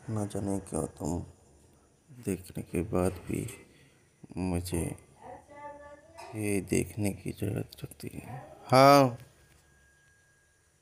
ना जाने क्यों तुम देखने के बाद भी मुझे ये देखने की ज़रूरत रखती है। हाँ।